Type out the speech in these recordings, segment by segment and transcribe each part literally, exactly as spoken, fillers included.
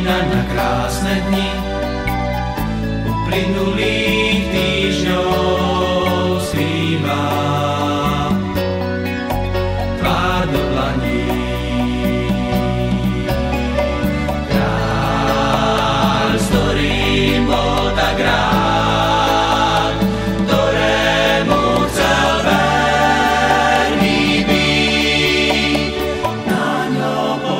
spomína na krásne dni uplynulých týždňov, skrýva tvár do dlaní. Kráľ, s ktorým bol tak rád, ktorému chcel verný byť, na ňo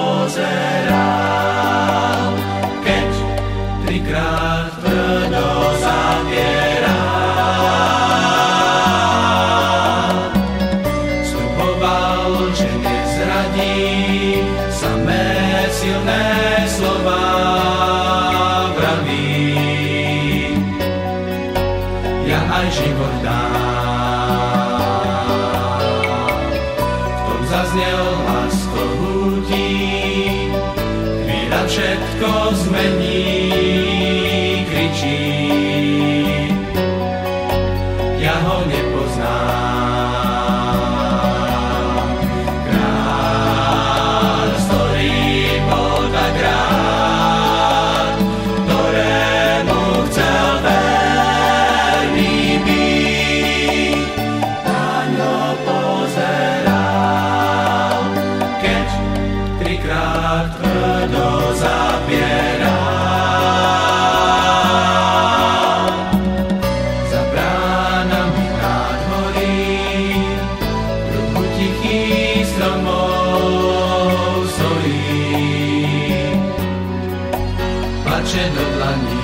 pozeral, keď trikrát tvrdo zapieral. Sľuboval, že nezradí, samé silné slova vraví, ja aj život dám. V tom zaznel hlas kohúti, chvíľa všetko zmení, kričí, ja ho nepoznám. Kráľ, s ktorým bol tak rád, ktorému chcel verný byť, na ňo pozeral, keď trikrát tvrdo zapieral. Za bránami nádvorí kruhu tichých stromov stojí, plače do dlaní.